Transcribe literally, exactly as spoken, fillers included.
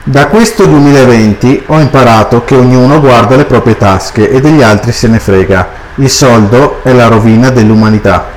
Da questo duemilaventi ho imparato che ognuno guarda le proprie tasche e degli altri se ne frega. Il soldo è la rovina dell'umanità.